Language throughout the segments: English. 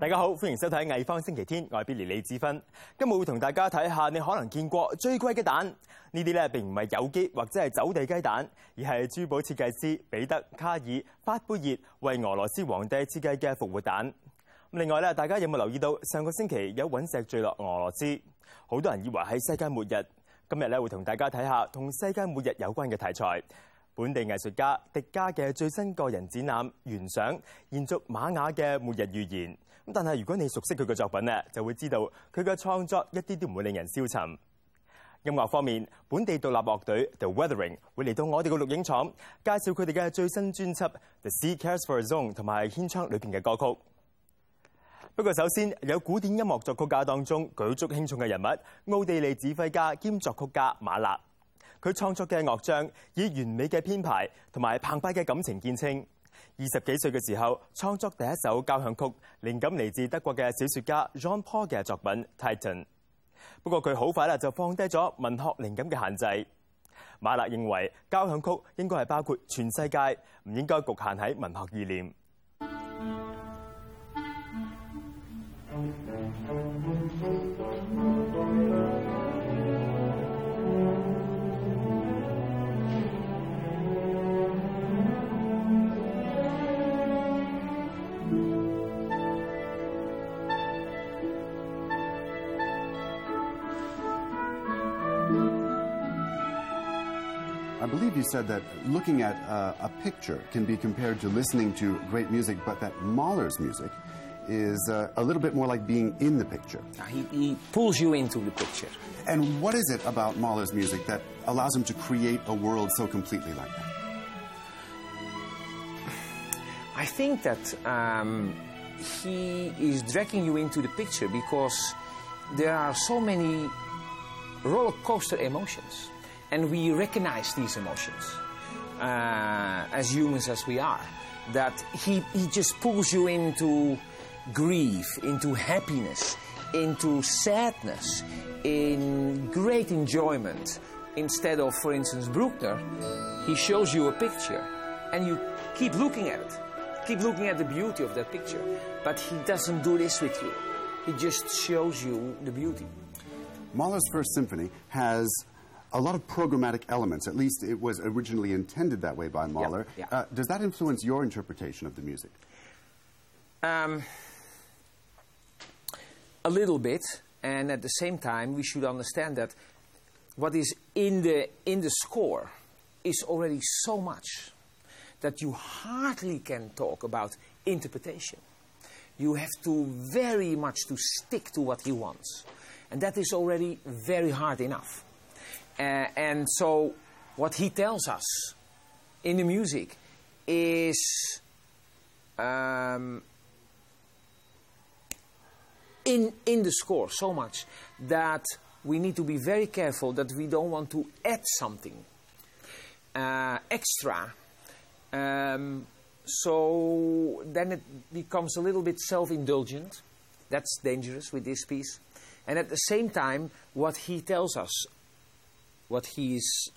大家好，歡迎收睇藝方星期天，我係 Billy 李子芬。今日會同大家睇下你可能見過最貴嘅蛋。呢啲咧並唔係有機或者係走地雞蛋，而係珠寶設計師彼得卡爾法貝熱為俄羅斯皇帝設計嘅復活蛋。另外咧，大家有冇留意到上個星期有隕石墜落俄羅斯？好多人以為係世界末日。今日咧會同大家睇下同世界末日有關嘅題材。本地藝術家迪加嘅最新個人展覽《原想》，延續瑪雅嘅末日預言。但係如果你熟悉佢嘅作品咧，就會知道佢嘅創作一啲都唔會令人消沉。音樂方面，本地獨立樂隊 The Weathering 會嚟到我哋嘅錄影廠，介紹佢哋嘅最新專輯《The Sea Cares for a Zone》同埋《天窗》裏邊嘅歌曲。不過首先有古典音樂作曲家當中舉足輕重嘅人物，奧地利指揮家兼作曲家馬勒。佢創作嘅樂章以完美嘅編排同埋澎湃嘅感情見稱。20幾歲嘅時候創作第一首交響曲，靈感嚟自德國嘅小說家 Jean Paul 嘅作品《Titan》。不過佢好快就放低咗文學靈感嘅限制。馬勒認為交響曲應該係包括全世界，唔應該局限喺文學意念。 I believe you said that looking at a picture can be compared to listening to great music, but that Mahler's music is a little bit more like being in the picture. He pulls you into the picture. And what is it about Mahler's music that allows him to create a world so completely like that? I think that he is dragging you into the picture because there are so many roller coaster emotions. And we recognize these emotions as humans as we are. That he just pulls you into grief, into happiness, into sadness, in great enjoyment. Instead of, for instance, Bruckner, he shows you a picture and you keep looking at it. Keep looking at the beauty of that picture. But he doesn't do this with you. He just shows you the beauty. Mahler's First Symphony has a lot of programmatic elements. At least it was originally intended that way by Mahler. Yeah. Does that influence your interpretation of the music? A little bit, and at the same time, we should understand that what is in the score is already so much that you hardly can talk about interpretation. You have to very much to stick to what he wants, and that is already very hard enough. And so what he tells us in the music is in the score so much that we need to be very careful that we don't want to add something extra. So then it becomes a little bit self-indulgent. That's dangerous with this piece. And at the same time, what he tells us, what he's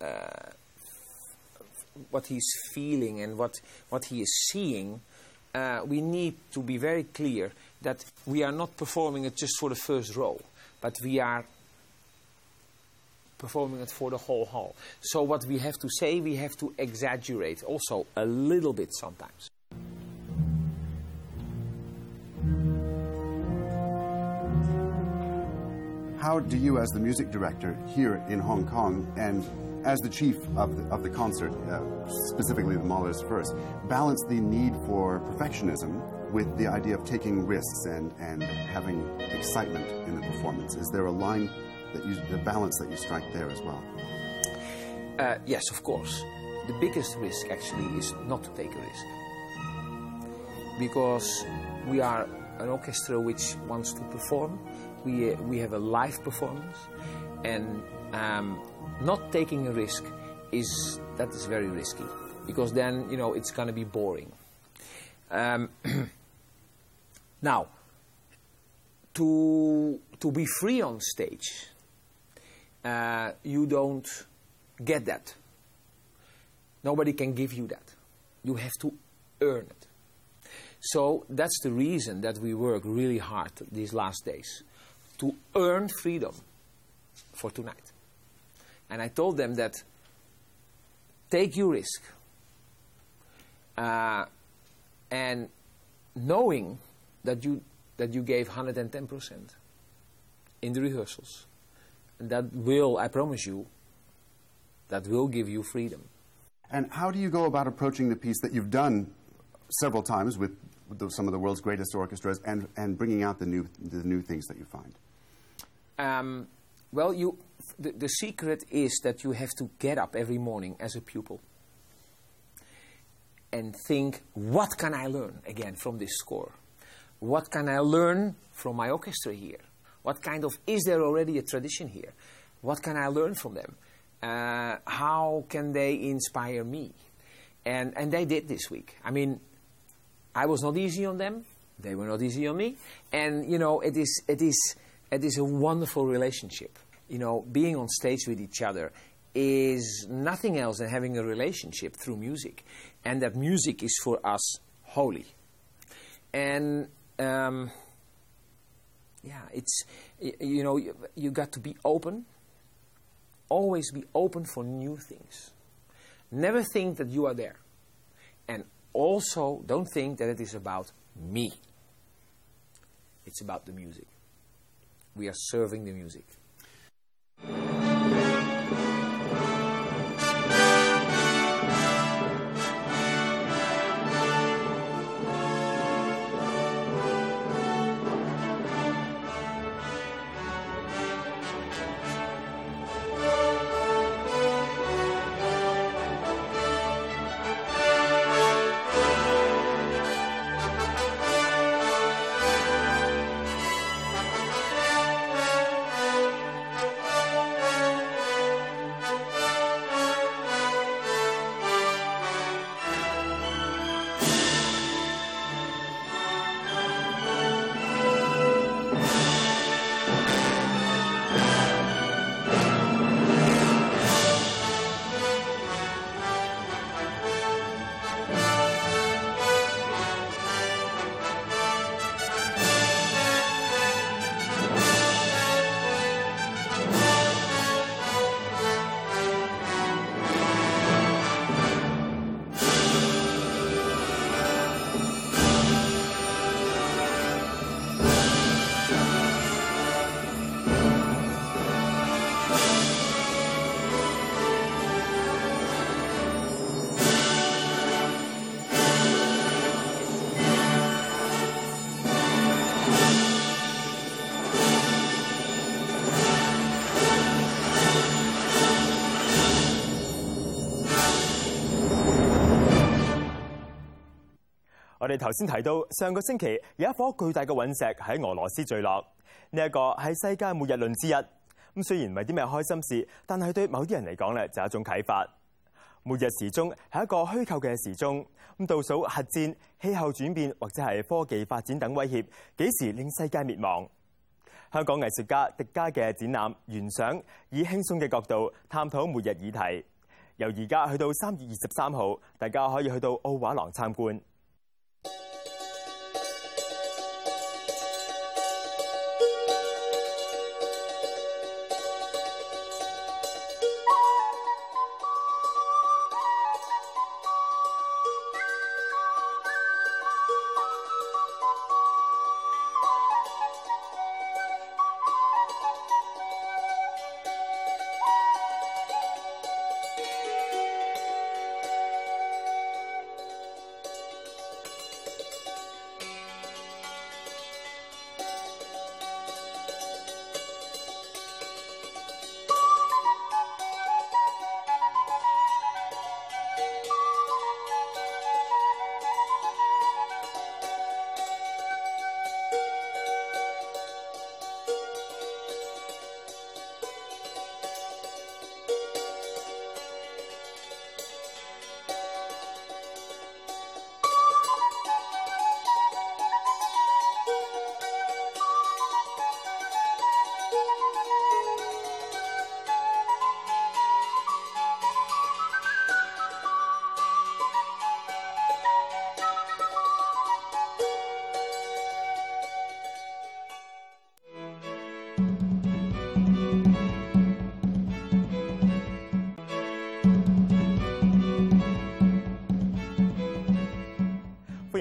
feeling and what he is seeing, we need to be very clear that we are not performing it just for the first row, but we are performing it for the whole hall. So what we have to say, we have to exaggerate also a little bit sometimes. How do you, as the music director here in Hong Kong, and as the chief of the concert, specifically the Mahler's First, balance the need for perfectionism with the idea of taking risks and having excitement in the performance? Is there a line that the balance that you strike there as well? Yes, of course. The biggest risk actually is not to take a risk, because we are an orchestra which wants to perform. We have a live performance, and not taking a risk is very risky, because then it's going to be boring. Now, to be free on stage, you don't get that. Nobody can give you that. You have to earn it. So that's the reason that we work really hard these last days to earn freedom for tonight. And I told them that take your risk. And knowing that you gave 110% in the rehearsals, that will, I promise you, that will give you freedom. And how do you go about approaching the piece that you've done several times with some of the world's greatest orchestras and bringing out the new things that you find? Well, the secret is that you have to get up every morning as a pupil and think, what can I learn again from this score? What can I learn from my orchestra here? What kind of, is there already a tradition here? What can I learn from them? How can they inspire me? And they did this week. I mean, I was not easy on them. They were not easy on me. And, you know, it is a wonderful relationship. You know, being on stage with each other is nothing else than having a relationship through music. And that music is for us holy. And, yeah, it's, you know, you got to be open. Always be open for new things. Never think that you are there. And also, don't think that it is about me. It's about the music. We are serving the music. 我哋頭先提到，上個星期有一顆巨大嘅隕石喺俄羅斯墜落，呢一個係世界末日論之一。咁雖然唔係啲咩開心事，但係對某啲人嚟講咧就係一種啟發。末日時鐘係一個虛構嘅時鐘，咁倒數核戰、氣候轉變或者係科技發展等威脅幾時令世界滅亡。香港藝術家狄嘉嘅展覽《原想》以輕鬆嘅角度探討末日議題。由而家去到3月23號，大家可以去到奧畫廊參觀。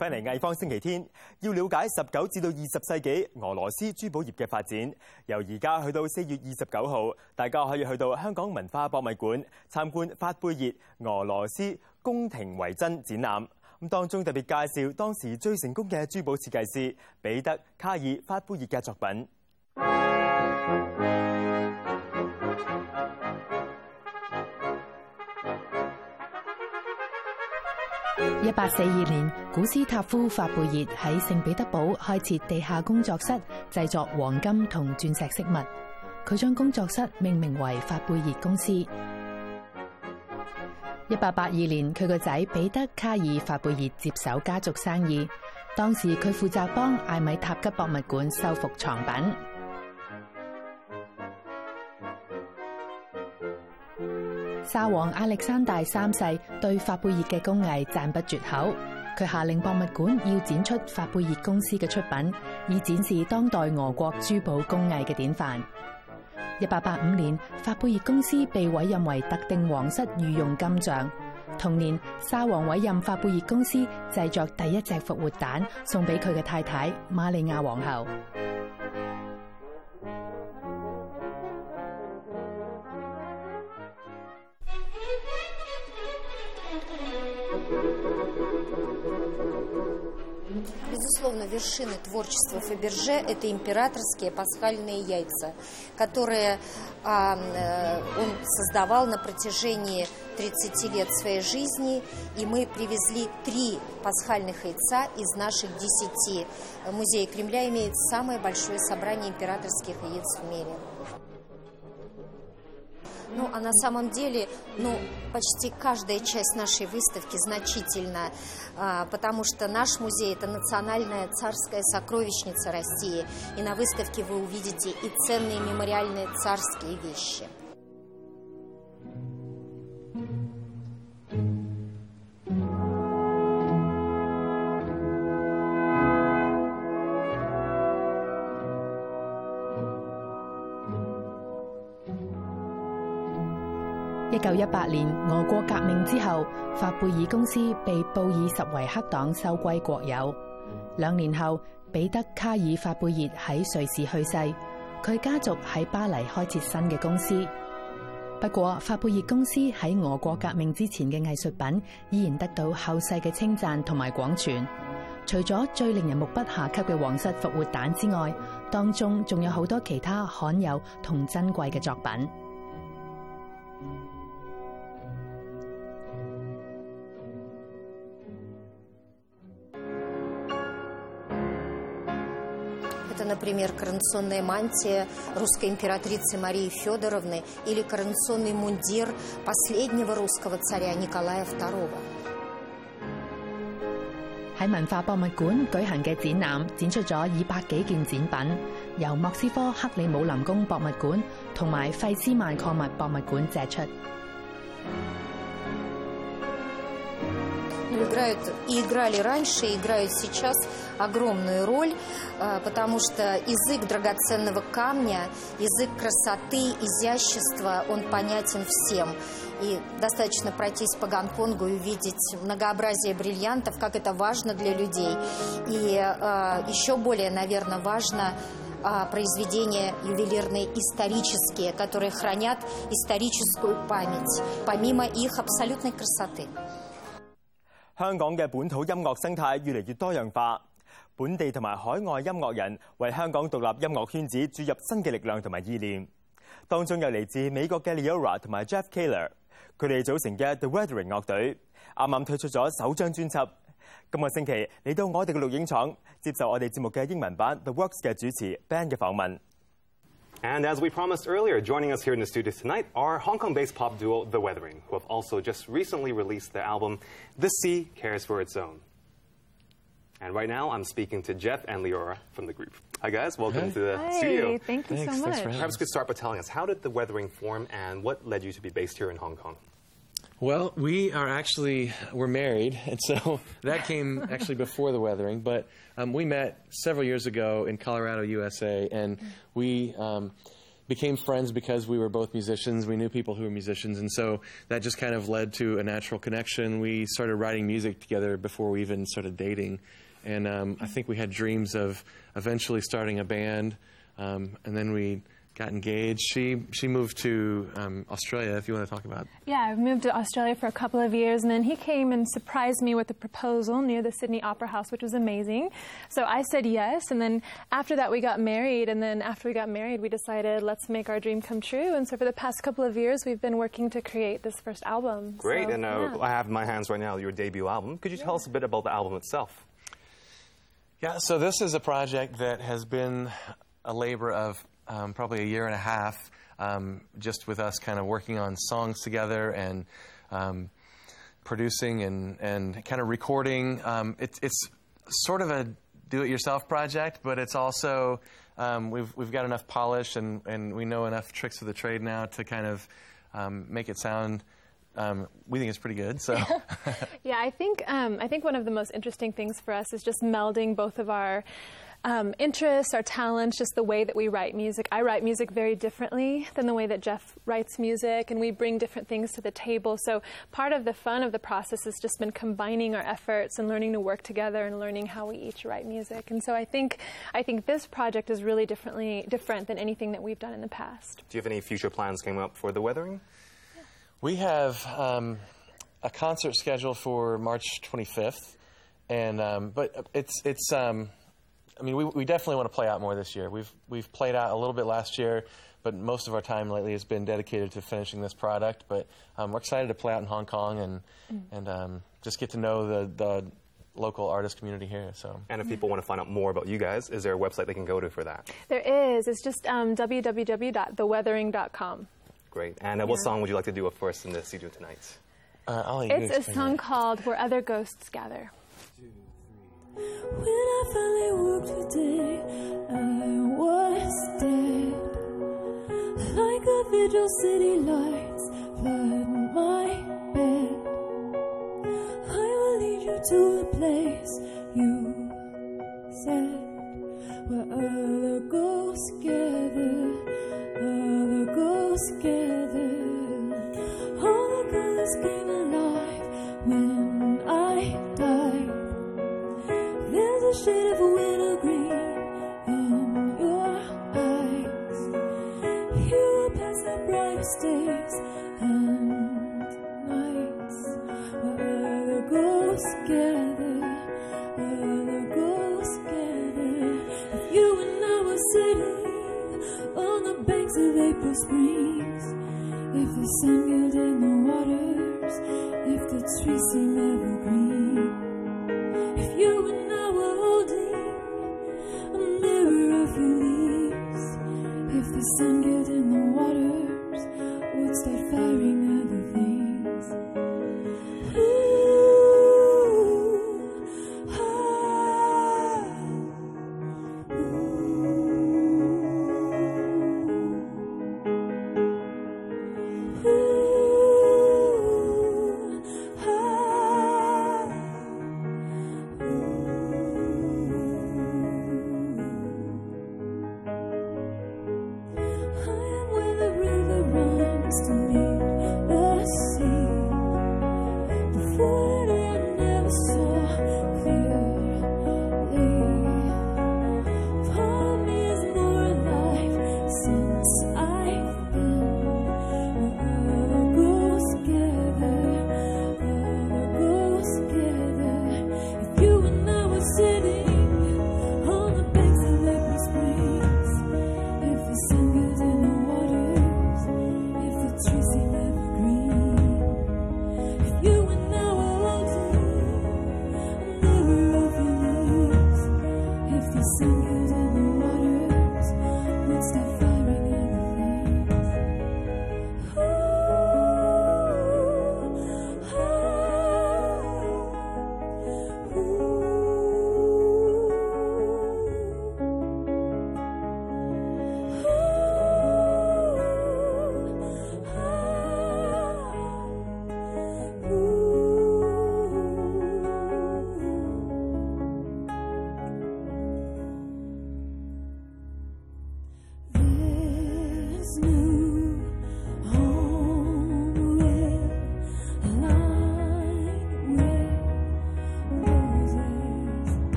翻嚟藝方星期天，要了解19至到20世紀俄羅斯珠寶業嘅發展。由而家去到4月29號，大家可以去到香港文化博物館參觀法貝熱俄羅斯宮廷遺珍展覽。咁當中特別介紹當時最成功嘅珠寶設計師彼得卡爾法貝熱嘅作品。 1842年，古斯塔夫法貝熱喺聖彼得堡開設地下工作室，製作黃金同鑽石飾物。佢將工作室命名為法貝熱公司。1882年，佢個仔彼得卡爾法貝熱接手家族生意，當時佢負責幫艾米塔吉博物館修復藏品。沙皇亞歷山大三世對法貝熱嘅工藝讚不絕口，佢下令博物館要展出法貝熱公司嘅出品，以展示當代俄國珠寶工藝嘅典範。1885年，法貝熱公司被委任為特定皇室御用金匠。同年，沙皇委任法貝熱公司製作第一隻復活蛋，送俾佢嘅太太瑪利亞皇后。 Безусловно, вершины творчества Фаберже – это императорские пасхальные яйца, которые он создавал на протяжении 30 лет своей жизни. И мы привезли 3 пасхальных яйца из наших 10. Музей Кремля имеет самое большое собрание императорских яиц в мире. Ну, а на самом деле, почти каждая часть нашей выставки значительна, потому что наш музей – это национальная царская сокровищница России, и на выставке вы увидите и ценные мемориальные царские вещи. –1918年，俄國革命之後，法貝熱公司被布爾什維克黨收歸國有。2年後，彼得卡爾法貝熱喺瑞士去世，佢家族喺巴黎開設新嘅公司。不過，法貝熱公司喺俄國革命之前嘅藝術品依然得到後世嘅稱讚同埋廣傳。除咗最令人目不暇給嘅皇室復活蛋之外，當中仲有好多其他罕有同珍貴嘅作品。 Это, например, коронационная мантия русской императрицы Марии Федоровны или коронационный мундир последнего русского царя Николая II. 喺文化博物館舉行嘅展覽展出咗200幾件展品，由莫斯科克里姆林宮博物館同埋費斯曼礦物博物館借出。 Играли раньше, и играют сейчас огромную роль, потому что язык драгоценного камня, язык красоты, изящества, он понятен всем. И достаточно пройтись по Гонконгу и увидеть многообразие бриллиантов, как это важно для людей. И еще более, наверное, важно произведения ювелирные исторические, которые хранят историческую память, помимо их абсолютной красоты. 香港嘅本土音樂生態越嚟越多樣化，本地同埋海外音樂人為香港獨立音樂圈子注入新嘅力量同埋意念。當中有嚟自美國嘅 Leora 同埋 Jeff Kaler， 佢哋組成嘅 The Weathering 樂隊，啱啱推出咗首張專輯。今個星期嚟到我哋嘅錄影廠，接受我哋節目嘅英文版 The Works 嘅主持 Ben 嘅訪問。 And as we promised earlier, joining us here in the studio tonight are Hong Kong-based pop duo The Weathering, who have also just recently released their album, The Sea Cares for Its Own. And right now, I'm speaking to Jeff and Leora from the group. Hi, guys. Welcome to the studio. Thank you so much. Perhaps we could start by telling us, how did The Weathering form, and what led you to be based here in Hong Kong? Well, we're married, and so that came actually before The Weathering, but we met several years ago in Colorado, USA, and we became friends because we were both musicians. We knew people who were musicians, and so that just kind of led to a natural connection. We started writing music together before we even started dating, and I think we had dreams of eventually starting a band, and then we got engaged. She moved to Australia, if you want to talk about. Yeah, I moved to Australia for a couple of years, and then he came and surprised me with a proposal near the Sydney Opera House, which was amazing. So I said yes, and then after that we got married, and then after we got married we decided let's make our dream come true, and so for the past couple of years we've been working to create this first album. Great, So, and yeah. I have in my hands right now your debut album. Could you tell us a bit about the album itself? Yeah, so this is a project that has been a labor of probably a year and a half, just with us kind of working on songs together and producing and kind of recording. It's sort of a do-it-yourself project, but it's also we've got enough polish and we know enough tricks of the trade now to kind of make it sound. We think it's pretty good. So, Yeah, I think one of the most interesting things for us is just melding both of our interests, our talents, just the way that we write music. I write music very differently than the way that Jeff writes music, and we bring different things to the table. So part of the fun of the process has just been combining our efforts and learning to work together and learning how we each write music. And so I think this project is really different than anything that we've done in the past. Do you have any future plans coming up for The Weathering? we have a concert scheduled for March 25th, and but it's I mean, we definitely want to play out more this year. We've played out a little bit last year, but most of our time lately has been dedicated to finishing this product. But we're excited to play out in Hong Kong and just get to know the local artist community here. So. And if people want to find out more about you guys, is there a website they can go to for that? There is. It's just www.theweathering.com. Great. And what song would you like to do up for us in the studio tonight? I'll let you It's a explain song that. called Where Other Ghosts Gather. When I finally woke today, I was dead. Like cathedral city lights flood my bed. I will lead you to a place you said, where other ghosts gather, other ghosts gather. All the colors came alive when I died. There's a shade of wintergreen in your eyes. You will pass the brightest days and nights, where other ghosts gather, other ghosts gather. If you and I were sitting on the banks of April springs, if the sun gilded the waters, if the trees seem evergreen, if you and I were holding a mirror of your leaves, if the sun gilded the waters would start firing other things. Ooh, ah, ooh, ooh, ah.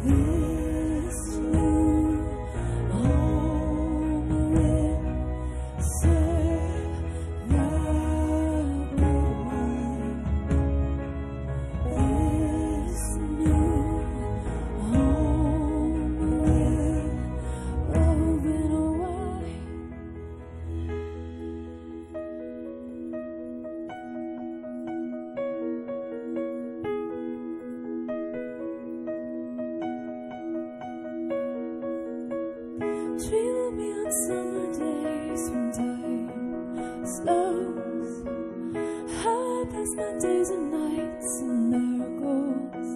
This new home will serve the good one. This new home will open wide. Dream of me on summer days when time slows. How I pass my days and nights in miracles.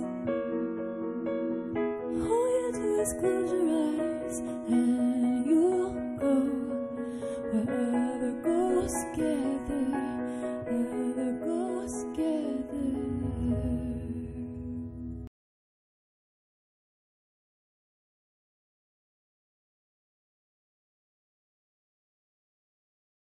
All you do is close your eyes and you'll go wherever ghosts gather.